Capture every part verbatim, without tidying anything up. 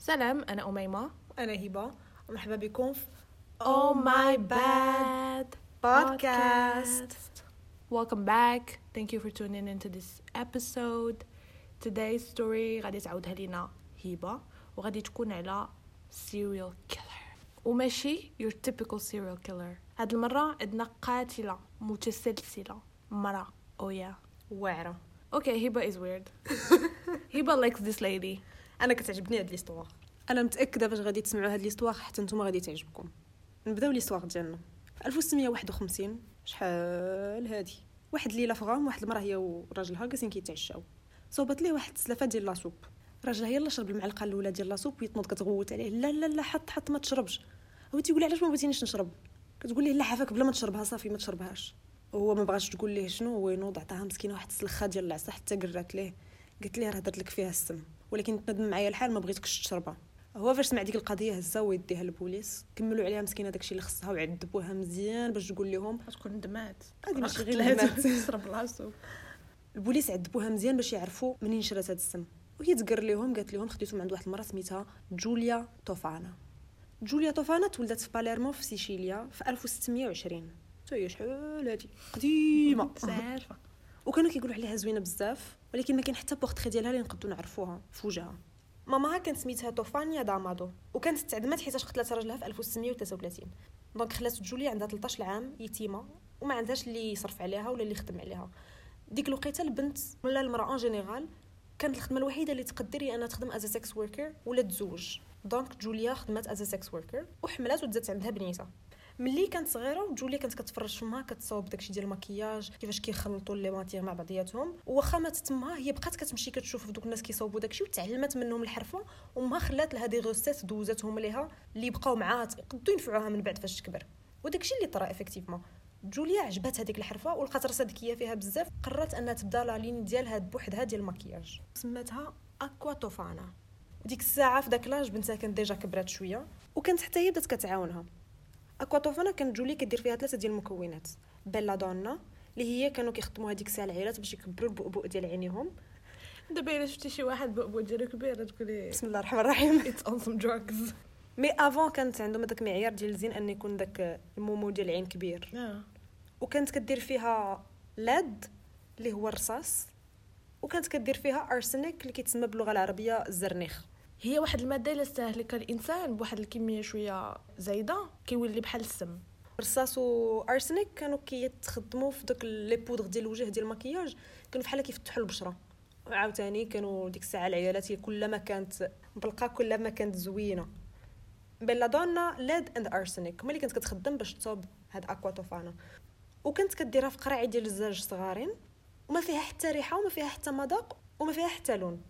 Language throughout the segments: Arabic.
سلام، أنا أميمة. أنا هبة. مرحبا بكم في Oh my bad podcast. Welcome back. Thank you for tuning into this episode. Today's story غادي تعاودها لينا هبة وغادي تكون على serial killer وماشي your typical serial killer. هاد المرة عندنا قاتلة متسلسلة مرة أويا واعرة. Okay, هبة is weird. هبة likes this lady. أنا كتعجبني هاد ليستوار. أنا متأكدة فاش غادي تسمعوا هاد ليستوار حتى نتوما غادي تعجبكم. نبداو ليستوار ديالنا في ألف وستمية وواحد وخمسين. شحال هادي؟ واحد ليله فغام واحد المراه هي وراجلها جالسين كيتعشاو، صوبت ليه واحد السلافه ديال لاصوب. راجلها يلا شرب المعلقه الاولى ديال لاصوب ويتنوض كتغوت عليه، لا لا لا حط حط ما تشربش. هو تيقول علاش ما بغيتينيش نشرب؟ كتقول ليه لا عافاك بلا ما تشربها صافي ما تشربهاش. هو ما بغاش تقول ليه شنو، هو ينوض عطاها مسكينه واحد السلخه ديال العصا حتى قرات ليه، قالت ليه راه هضرت لك فيها السم ولكن تندم معايا الحال ما بغيتكش تشربها. هو فاش سمع ديك القضيه هزا ويديها للبوليس، كملوا عليها مسكينه داكشي اللي خصها وعذبوها مزيان باش تقول لهم تكون ندمات هذه ماشي غير ندمات. تشرب العصوب. البوليس عذبوها مزيان باش يعرفوا منين شرات هذا السم، وهي تقر لهم قالت لهم خديتهم عند واحد المراه سميتها جوليا توفانا. جوليا توفانا تولدت في باليرمو في سيشيليا في ألف وستمية وعشرين. حتى شحال هادي قديمه عارفه. وكانوا كيقولوا عليها زوينه بزاف، ولكن ما كاين حتى بورتري ديالها اللي نقدروا نعرفوها في وجهها. ماماها كانت سميتها توفانيا دامادو وكانت تعدمت حيت قتلت راجلها في ألف وستمية وثلاثة وثلاثين. دونك خلات جوليا عندها ثلاثة عشر عام يتيمه وما عندهاش اللي يصرف عليها ولا اللي يخدم عليها. ديك الوقيته البنت ولا المراه ان جينيرال كانت الخدمه الوحيده اللي تقدر هي انها تخدم از سكس وركر ولا تزوج. دونك جوليا خدمت از سكس وركر وحملات وتزادت عندها بنيته. ملي كانت صغيره جوليا كانت كتفرج فمها كتصاوب داكشي ديال المكياج كيفاش كيخلطوا لي ماتيغ مع بعضياتهم، وخا مات تما هي بقات كتمشي كتشوف في دوك الناس كيصاوبوا داكشي وتعلمت منهم الحرفه، وما خلات لها دي غوسيت دوزاتهم ليها اللي بقاو معاها يقدروا ينفعوها من بعد فاش تكبر. وداكشي اللي طرا افكتيفمون جوليا عجبات هذيك الحرفه ولقات راسها ذكيه فيها بزاف، قررت انها تبدا لا لين ديالها بوحدها ديال المكياج سماتها اكوا توفانا. وديك الساعه في داك لاج بنتها كانت ديجا كبرات شويه وكانت حتى هي بدات كتعاونها. اكوا توفانا كانت جولي كدير فيها ثلاثه ديال المكونات. بيلا دونا اللي هي كانوا كيخدموا هذيك الساعه العائلات باش يكبروا البؤبؤ ديال عينيهم. دابا الا شفتي شي واحد بؤبؤ ديالو كبير تقولي بسم الله الرحمن الرحيم it's on some drugs. مي افون كانت عندهم هذاك المعيار ديال الزين ان يكون داك المومو ديال العين كبير. اه وكانت كدير فيها لاد اللي هو الرصاص، وكانت كدير فيها ارسنيك اللي كيتسمى باللغه العربيه الزرنيخ. هي واحد الماده اللي استهلكها الانسان بواحد الكميه شويه زايده كيولي بحال السم. الرصاص وارسنيك كانوا كيتخدموا في داك لي بودغ ديال الوجه ديال المكياج، كانوا بحال كيفتحوا البشره. وعاوتاني كانوا ديك الساعه العيالات هي كلما كانت مبلقه كلما كانت زوينه. بيلادونا ليد اند ارسنيك هما اللي كانت كتخدم باش تصوب هاد اكوا توفانا، وكانت كديرها في قراعي ديال الزاج صغارين وما فيها حتى ريحه وما فيها حتى مذاق وما فيها حتى لون.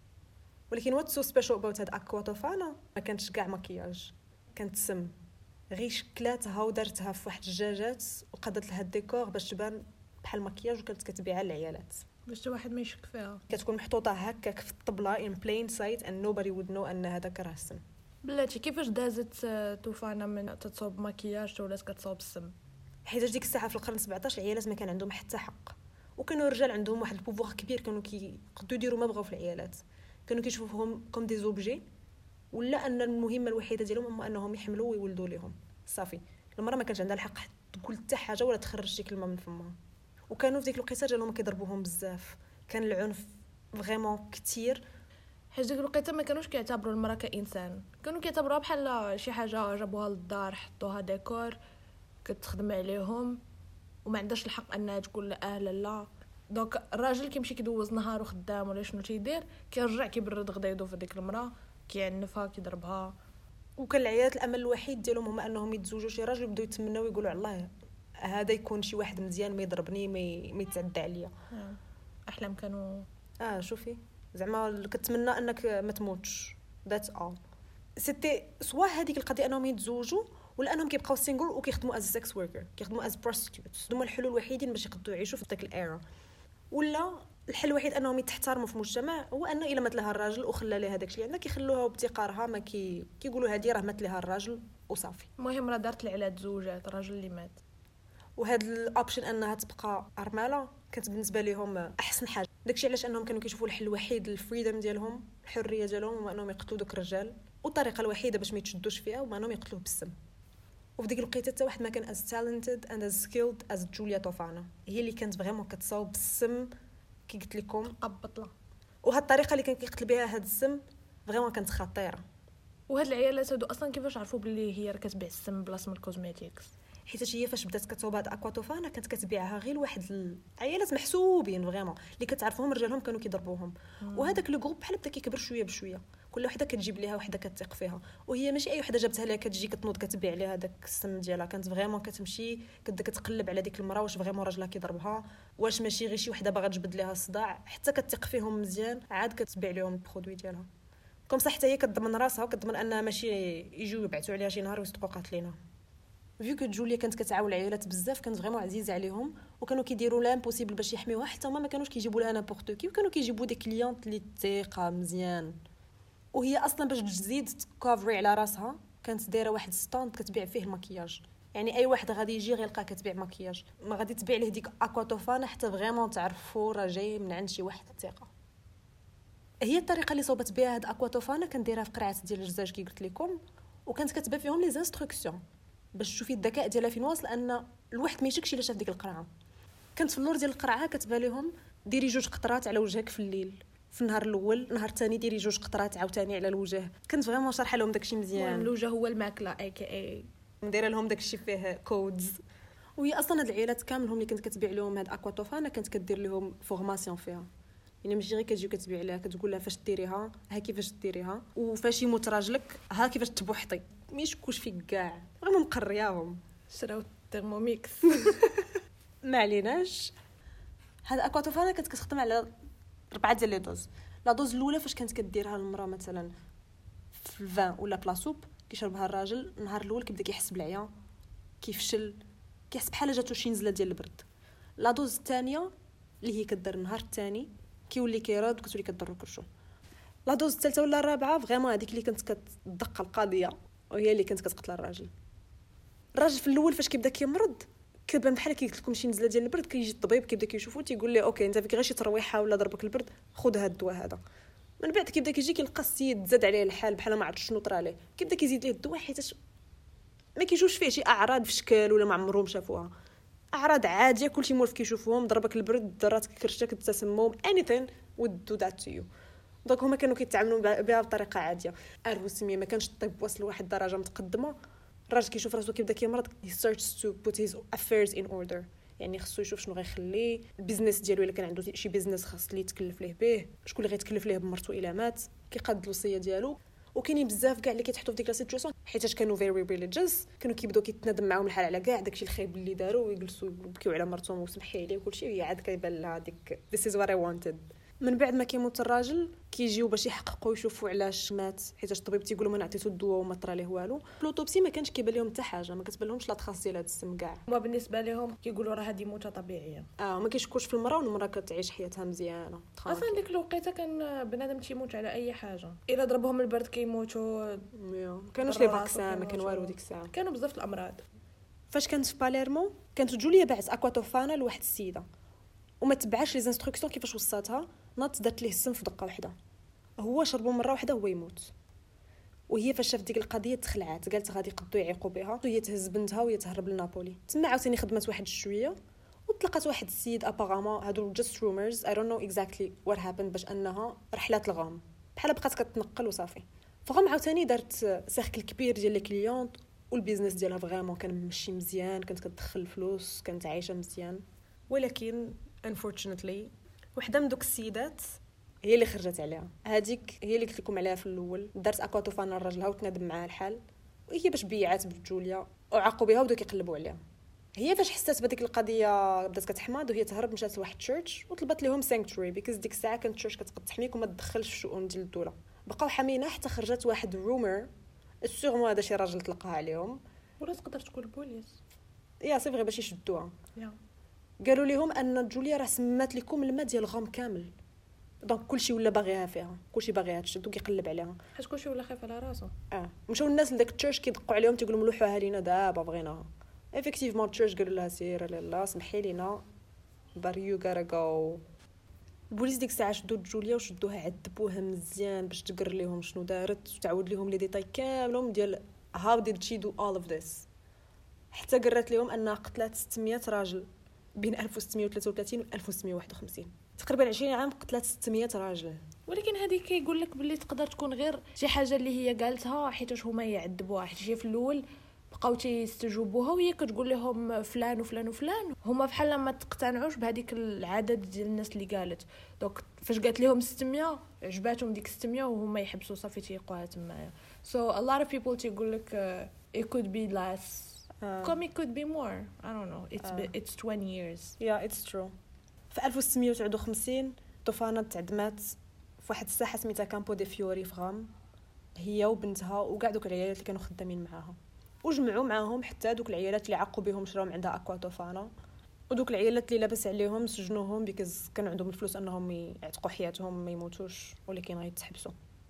ولكن وات سو سبيشال اباوت هاد اكوا توفانا ما كانتش كاع مكياج، كانت سم غير شكلاتها ودرتها في واحد الدجاجات وقدت لها الديكور باش تبان بحال مكياج وكانت كتبيعها للعيالات باش واحد ما يشك فيها. كتكون محطوطه هكاك في الطبله in plain sight and nobody would know ان هذاك راه السم. بلاتي كيفاش دازت توفانا من تتصوب مكياج ولات كتصوب السم؟ حيت ديك الساعه في القرن سبعطاش العيالات ما كان عندهم حتى حق، وكانوا الرجال عندهم واحد البوفوار كبير، كانوا كيقدروا يديروا ما بغاو في العيالات، كانوا كيشوفوهم كوم دي زوبجي، ولا ان المهمه الوحيده ديالهم هو انهم يحملوا ويولدوا لهم صافي. المراه ما كانش عندها الحق تقول حتى حاجه ولا تخرج شي كلمه من فمها. وكانوا في ديك الوقيته جالهم كيضربوهم بزاف، كان العنف فريمون كتير. حيت ديك الوقيته ما كانوش كيعتبروا المراه كانسان، كانوا كيعتبروها بحال شي حاجه جابوها للدار حطوها ديكور كتخدم عليهم وما عندهاش الحق انها تقول لا لا لا. دونك الراجل كيمشي كيدوز نهار خدام ولا شنو تيدير كيرجع كيبرد غدايدو في ديك المراه كيعنفها كيضربها. وكان العيالات الامل الوحيد ديالهم هما انهم يتزوجوا شي راجل ويبداو يتمناو يقولوا الله هذا يكون شي واحد مزيان ما يضربني ما يتعدى عليا. احلام كانوا اه شوفي زعما كتمنى انك ما تموتش ذاتس اول. سيتي سوا هذيك القضيه انهم يتزوجوا ولا انهم كيبقاو سينجل وكيخدموا از سكس وركر، كيخدموا از بروستيتيوتس. هما الحلول الوحيدين باش يقدروا يعيشوا في داك الايرا. ولا الحل الوحيد انهم يتحترموا في المجتمع هو انه الا مات لها الراجل وخلى لها داكشي اللي عندها كيخلوها وبتقارها، ما كي كيقولوا هذه راه مات لها الراجل وصافي. المهم راه دارت العلاج تزوجات الراجل اللي مات. وهاد الاوبشن انها تبقى ارمله كانت بالنسبه لهم احسن حاجه. داكشي علاش انهم كانوا كيشوفوا الحل الوحيد للفريدم ديالهم، الحريه ديالهم، هو انهم يقتلوا دوك الرجال والطريقه الوحيده باش ما يتشدوش فيها هما انهم يقتلوه بالسم. وفي ديك الوقيته حتى واحد ما كان as talented and as skilled as جوليا توفانا، هي اللي كانت فريمون كتصاوب بالسم كي قلت لكم قبطله. وهاد الطريقه اللي كان كيقتل بها هاد السم فريمون كانت خطيره. وهاد العيالات هادو اصلا كيفاش عرفوا باللي هي راه كتبيع السم بلاصه من الكوزميتيكس؟ حيت هي فاش بدات كتصاوب هاد اكواتوفانا كانت كتبيعها غير لواحد العيالات محسوبين فريمون اللي كتعرفهم رجالهم كانوا كيضربوهم. وهذاك لو جروب بحال بدا كيكبر شويه بشويه، كل وحده كتجيب ليها وحده كتثق فيها، وهي ماشي اي وحده جابتها لها كتجي كتنوض كتبيع لها داك السم ديالها. كانت فريمون كتمشي كتبدا كتقلب على ديك المراه واش فريمون راجلها كيضربها، واش ماشي غير شي وحده باغا تجبد لها الصداع، حتى كتثق فيهم مزيان عاد كتبيع لهم البرودوي ديالها. كوم صح حتى هي كتضمن راسها وكتضمن انها ماشي يجيو يبعثوا عليها شي نهار ويصدقوا قاتلينها. فيو كو جوليا كانت كتعاون العائلات بزاف، كانت فريمون عزيزه عليهم وكانوا كيديروا لامبوسيبل باش يحميوها، حتى هما ما كانوش كيجيبوا لها نابورت كي، وكانوا كيجيبوا دي كليونط اللي تيقه مزيان. وهي اصلا باش تزيد تكوفري على راسها كانت دايره واحد ستاند كتبيع فيه المكياج، يعني اي واحد غادي يجي غيلقاها كتبيع مكياج، ما غادي تبيع له ديك اكواتوفانا حتى فريمون تعرفوا راه جاي من عند شي واحد ثقه. هي الطريقه اللي صوبت بها هاد اكواتوفانا كان دايرها في قرعه ديال الجزاج كي قلت لكم، وكانت كتبان فيهم لي انستركسيون باش تشوفي الذكاء ديالها فين واصل، ان الواحد ما يشكش الا شاف ديك القرعه. كانت في اللور ديال القرعه كتبان لهم ديري جوج قطرات على وجهك في الليل، في النهار الاول النهار الثاني ديري جوج قطرات عاوتاني على الوجه. كنت فريمون شارحه لهم داكشي مزيان. الوجه هو الماكله اي كي اي ندير لهم داكشي فيه كودز. وهي اصلا هاد العائلات كاملهم اللي كنت كتبيع لهم هاد اكواتوفانا كانت كدير لهم فورماسيون فيها، يعني ماشي غير كتجي كتبيع لها كتقول لها فاش ديريها ها كيفاش ديريها، وفاش يموت راجلك ها كيفاش تبوحطي، مش كوش فيك كاع فريمون مقرياهم. شراو الترموميكس. ما عليناش. هاد اكواتوفانا كانت كتخدم على ربعه ديال لي دوز. لا دوز الاولى فاش كانت كديرها المراه مثلا في الفان ولا بلاصوب كيشربها الراجل، النهار الاول كيبدا كيحس بالعيا كيفشل كيحس بحال جاتو شي نزله ديال البرد. لا دوز الثانيه اللي هي كدير النهار الثاني كيولي كيراد وكتولي كضرو كرشو. لا دوز الثالثه ولا الرابعه فريمون هذيك اللي كانت كتدق القضيه وهي اللي كانت كتقتل الراجل. الراجل في الاول فاش كيبدا كيمرض كيبان بحال كي قلت لكم شي نزله ديال البرد، كيجي الطبيب كيبدا كيشوفو تيقول ليه اوكي انت فيك غير شي ترويحه ولا ضربك البرد خذ هذا الدواء هذا. من بعد كيبدا كيجي كيلقى السيد زاد عليه الحال بحال ما عرفش شنو طرا ليه، كيبدا كيزيد ليه الدواء حيت ما كيجوش فيه شي اعراض في شكل ولا ما عمرهم شافوها، اعراض عاديه كلشي مولف كيشوفوهم، ضربك البرد ضراتك كرشتك التسمم anything would do that to you. دونك هما كانوا كيتعاملوا بها بطريقه عاديه. الروسميه ما كانش الطب واصل لواحد الدرجه متقدمه، الراجل كيشوف راسو كيبدا كيمرض he starts to put his affairs in order، يعني خصو يشوف شنو غيخليه البيزنس ديالو الا كان عنده شي بيزنس خاص ليه يتكلف ليه به، شكون اللي غيتكلف ليه بمرتو الا مات، كيقاد الوصيه ديالو. وكاينين بزاف كاع اللي كيتحطوا في ديك لا سيتوياسيون حيت كانوا فيري ريليجيوس، كانوا كيبداو كيتندم معاهم الحال على كاع داكشي الخايب اللي داروا ويجلسوا يبكيو على مرتهم وسمحي عليه وكلشي، هي عاد كيبان لها ديك this is what I wanted. من بعد ما كيموت الراجل كيجيو باش يحققوا يشوفوا علاش مات، حيت الطبيب تيقول لهم انا عطيتو الدواء وما طرا ليه والو. لوطوبسي ما كانش كيبان لهم حتى حاجه، ما كتبان لهمش لا تخاص ديال هذا السم كاع. هما بالنسبه لهم كيقولوا راه هذه موته طبيعيه، اه ما كيشكوش في المراه والمراه كتعيش حياتها مزيانه. اصلا ديك الوقيته كان بنادم تيموت على اي حاجه، الا ضربهم البرد كيموتوا، ما كانوش لي فاكسان ما كان والو ديك الساعه، كانوا بزاف الامراض. فاش كانت في باليرمو كانت جوليا باعت اكواتوفانا لواحد السيده وما تبعش لي انستركسيون كيفاش وصاتها، ناط دات ليه السم في دقه واحده، هو شربو مره واحده هو يموت. وهي فاش شافت ديك القضيه تخلعات، قالت غادي يقدو يعيقوا بها، وهي تهز بنتها وهي تهرب لنابولي. تما عاوتاني خدمت واحد شويه وطلقت واحد السيد ابارامون، هادو جاست رومرز اي دونت نو اكزاكتلي وات هابند، باش انها رحلات الغام بحال بقات كتنقل وصافي. فغام عاوتاني دارت سيركل كبير ديال لي كليونط والبيزنس ديالها فريمون كان ماشي مزيان، كانت كتدخل فلوس، كانت عايشه مزيان. ولكن unfortunately وحده من دوك السيدات هي اللي خرجت عليها. هذيك هي اللي قلت لكم عليها في الاول، دارت اكواتوفانا لراجلها وتنادم معاه الحال، وهي باش بيعات بجوليا وعاقوا بها وبداو كيقلبوا عليها. هي فاش حسات بهذيك القضيه بدات كتحماض وهي تهرب، مشات لواحد تشيرش وطلبت لهم سانكتوري بيكوز ديك الساعه كانت تشيرش كتقد تحميك وما تدخلش في الشؤون ديال الدوله. بقاو حامينها حتى خرجت واحد رومر سيغمون هذا شي راجل طلقها عليهم، ولا تقدر تكون البوليس يا صافي غير باش يشدوها. yeah. قالوا لهم ان جوليا راه سمات لكم الماء ديال الغام كامل، دونك كلشي ولا باغيها فيها، كلشي باغيها تشد وكيقلب عليها، حيت كلشي ولا خايف على راسو. اه مشاو الناس لداك التشيرش كيدقوا عليهم تيقولوا لهم لوحوها لينا دابا بغيناها. افيكتيفمون التشيرش قالوا لها سير لالا سمحي لينا بار يو غاتا جو. البوليس ديك الساعه شدوا جوليا وشدوها عذبوها مزيان باش تقر لهم شنو دارت وتعاود لهم لي ديتاي كاملهم ديال how did she do all of this. حتى قرات لهم انها قتلت ستمية راجل بين ألف وستمية وثلاثة وثلاثين و ألف وستمية وواحد وخمسين، تقريبا عشرين عام قتلت ستمية راجل. ولكن هذه كيقول لك باللي تقدر تكون غير شي حاجه اللي هي قالتها حيتاش هما يعذبوها، حيت هي في الاول بقاو تيستجوبوها وهي كتقول لهم فلان وفلان وفلان، هما بحال ما تقتنعوش بهذيك العدد ديال الناس اللي قالت. دونك فاش قالت لهم ستمية عجباتهم ديك ستمية وهما يحبسوا صافي تيقوها تمايا. so a lot of people تيقول لك uh, it could be less uh, come it could be more I don't know it's uh, it's twenty years. yeah it's true. في ألف وستمية وتسعة وخمسين طوفانة تعدمات في واحد الساحه سميتها كامبو دي فيوري في غام، هي وبنتها وكاع دوك العيالات اللي كانوا خدامين معاها، وجمعوا معاهم حتى دوك العيالات اللي عقوا بهم شراو عندها اكوا طوفانه، ودوك العيالات اللي لاباس عليهم سجنوهم بيكز كانوا عندهم الفلوس انهم يعتقوا حياتهم ما يموتوش ولكن غيتحبسوا.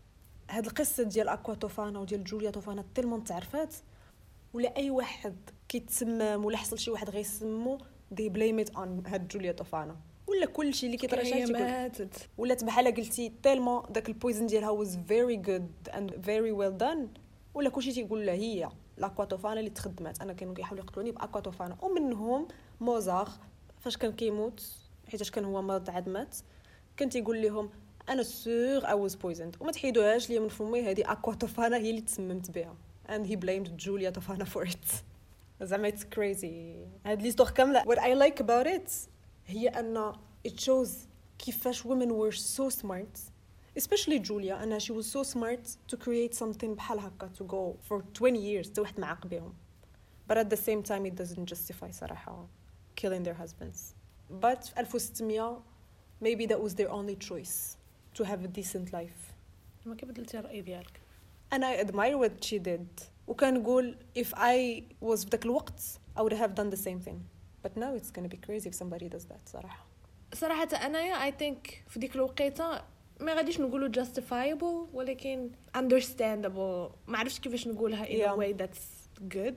هاد القصه ديال اكوا طوفانه وديال جوليا طوفانه تلمون تعرفات، ولا اي واحد كيتسمم ولا حصل شي واحد غيسمو دي بليميت اون هاد جوليا طوفانه، ولا كلشي اللي كيطرا شي ماتت ولات بحال قلتي تيلمون داك البويزن ديالها was very good and very well done، ولا كلشي تيقول لها هي لاكواتوفانا اللي تخدمات. انا كانوا كيحاولوا يقتلوني باكواتوفانا، ومنهم موزار فاش كان كيموت حيتاش كان هو مرض عدمات كان تيقول لهم انا سور I was poisoned، وما تحيدوهاش ليا من فمي هذه اكواتوفانا هي اللي تسممت بها and he blamed جوليا توفانا for it. زعما it's crazy هاد ليستوغ كامله. what I like about it هي ان it shows كيفاش women were so smart especially Julia and she was so smart to create something بحال هكا to go for twenty years تا واحد معاق بهم. but at the same time it doesn't justify صراحة killing their husbands. but في ألف وستمية maybe that was their only choice to have a decent life. ما كيف بدلتي الرأي ديالك؟ أنا I admire what she did وكنقول if I was في ذاك الوقت I would have done the same thing, but now it's gonna be crazy if somebody does that. صراحة صراحة أنا I think في ديك الوقيته ما غاديش نقولوا justifiable ولكن understandable، ما عرفتش كيفاش نقولها in yeah. a way that's good،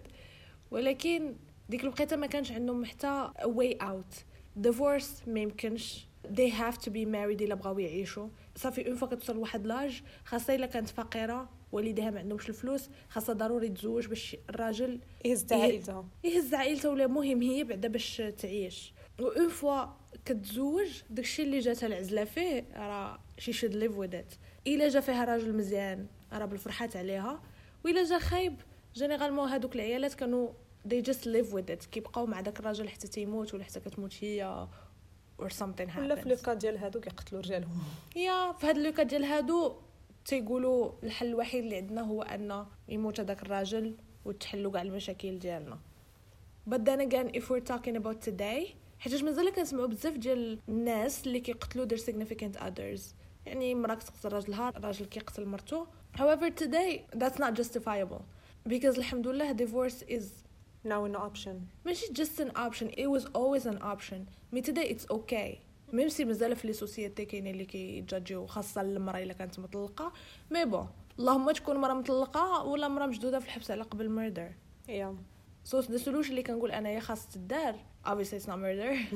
ولكن ديك الوقيته ما كانش عندهم حتى a way out. divorce ما يمكنش، they have to be married إلا بغاو يعيشوا. صافي اون فوا كتوصل لواحد لاج خاصه الا كانت فقيره والديها ما عندهمش الفلوس خاصها ضروري تزوج باش الراجل يهز عائلتها يهز عائلته ولا مهم هي بعدا باش تعيش. واون فوا كتزوج داكشي اللي جاتها العزله فيه راه she should live with it. الا جا فيها راجل مزيان راه بالفرحات عليها، والا جا خايب جينيرالمون هادوك العيالات كانوا they just live with it كيبقاو مع داك الراجل حتى تيموت ولا حتى كتموت هي or something happens. ولا في لوكا ديال هادو كيقتلوا رجالهم. يا في هاد لوكا ديال هادو تيقولوا الحل الوحيد اللي عندنا هو ان يموت هذاك الراجل وتحلوا كاع المشاكل ديالنا. but then again if we're talking about today حيت مازال كنسمعوا بزاف ديال الناس اللي كيقتلوا their significant others، يعني مرا كتقتل راجلها راجل كيقتل مرته. however today that's not justifiable because الحمد لله divorce is now an option. ماشي just an option, it was always an option. me today it's okay. ميم سي مازال في لي سوسيتي كاينين اللي كيجاجيو خاصه المراه الا كانت مطلقه، مي بون اللهم تكون مراه مطلقه ولا مراه مشدوده في الحبس على قبل ميردر. yeah so the solution اللي كنقول انا هي خاص تدار obviously it's not murder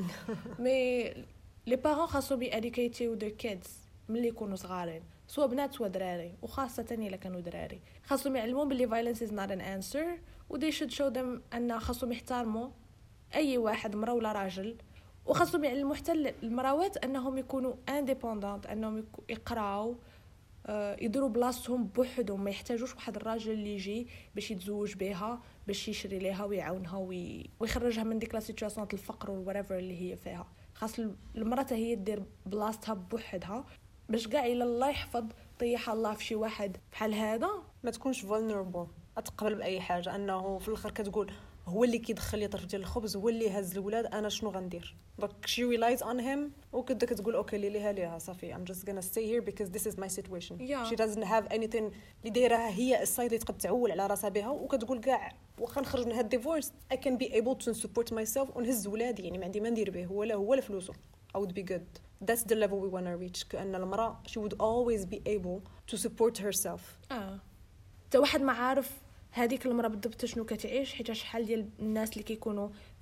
مي لي بارون خاصو بي educate their kids ملي يكونوا صغارين سواء بنات سواء دراري، وخاصه الا كانوا دراري خاصهم يعلمون باللي violence is not an answer و they should show them ان خاصهم يحترموا اي واحد مرا ولا راجل، وخاصهم يعلموا حتى المراوات انهم يكونوا انديبوندنت، انهم يقراو يديروا بلاصتهم بوحدهم، ما يحتاجوش واحد الراجل اللي يجي باش يتزوج بها باش يشري ليها ويعاونها ويخرجها من ديك لا سيتوياسيون الفقر والوريفر اللي هي فيها. خاص المراه هي دير بلاصتها بوحدها باش كاع الا الله يحفظ طيح الله في شي واحد بحال هذا ما تكونش vulnerable اتقبل باي حاجه، انه في الاخر كتقول هو اللي كيدخل لي طرف ديال الخبز هو اللي هز الولاد انا شنو غندير. دونك she relies on him وكدا كتقول اوكي لي ليها ليها صافي I'm just gonna stay here because this is my situation. yeah. she doesn't have anything اللي دايرها هي السايد اللي تقد تعول على راسها بها، وكتقول كاع واخا نخرج من هاد ديفورس I can be able to support myself ونهز ولادي، يعني ما عندي ما ندير به ولا هو ولا فلوسه. I would be good. That's the level we want to reach. كأن المرأة she would always be able to support herself. اه تا واحد ما عارف هذيك المرأة بالضبط شنو كتعيش، حيت شحال ديال الناس اللي كيكونوا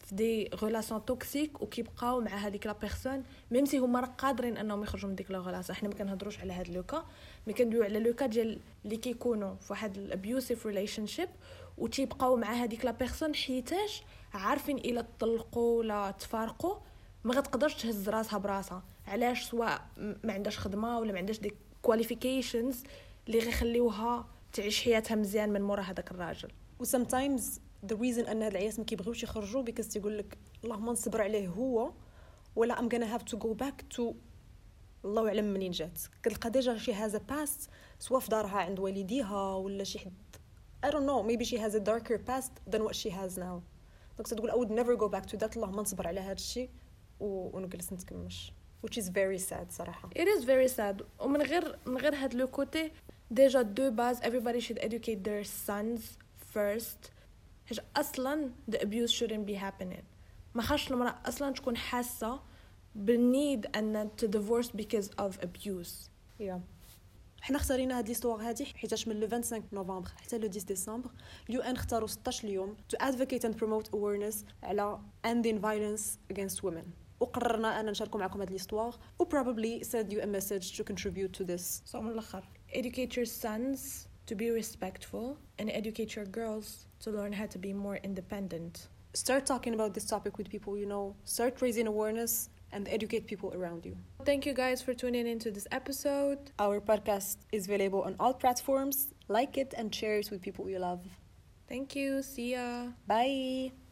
في دي غولاسيون توكسيك وكيبقاو مع هذيك لا بيرسون ميم سي هما راه قادرين انهم يخرجوا من ديك لا غولاسيون. حنا ما كنهضروش على هذا لوكا، مي كندويو على لوكا ديال اللي كيكونوا في واحد الابيوسيف ريليشن شيب وتيبقاو مع هذيك لا بيرسون حيتاش عارفين الا طلقوا ولا تفارقوا ما غتقدرش تهز راسها براسها. علاش؟ سواء ما عندهاش خدمه ولا ما عندهاش دي كواليفيكيشنز اللي غيخليوها تعيش حياتها مزيان من مورا هذاك الراجل. و sometimes the reason ان هاد العياس ما كيبغيوش يخرجوا because تيقول لك اللهم نصبر عليه هو ولا I'm gonna have to go back to الله اعلم منين جات. كتلقى ديجا شي هذا past سواء في دارها عند والديها ولا شي حد I don't know maybe she has a darker past than what she has now. دونك تقول I would never go back to that. اللهم نصبر على هذا الشيء ونجلس نتكمش which is very sad صراحة. It is very sad. ومن غير من غير هاد لو كوتي ديجا دو باز everybody should educate their sons first. حاجة أصلاً the abuse shouldn't be happening. ما خاصش المرأة أصلاً تكون حاسة بالنيد أن to divorce because of abuse. yeah. حنا اختارينا هاد ليستوار هادي حيتاش من لو خمسة وعشرين نوفمبر حتى لو عشرة ديسمبر اليو ان اختاروا ستطاش اليوم to advocate and promote awareness على ending violence against women. وقررنا أن نشاركوا معكم هاد ليستوار و probably send you a message to contribute to this. so من الآخر educate your sons to be respectful and educate your girls to learn how to be more independent. Start talking about this topic with people you know. Start raising awareness and educate people around you. Thank you guys for tuning into this episode. Our podcast is available on all platforms. Like it and share it with people you love. Thank you. See ya. Bye.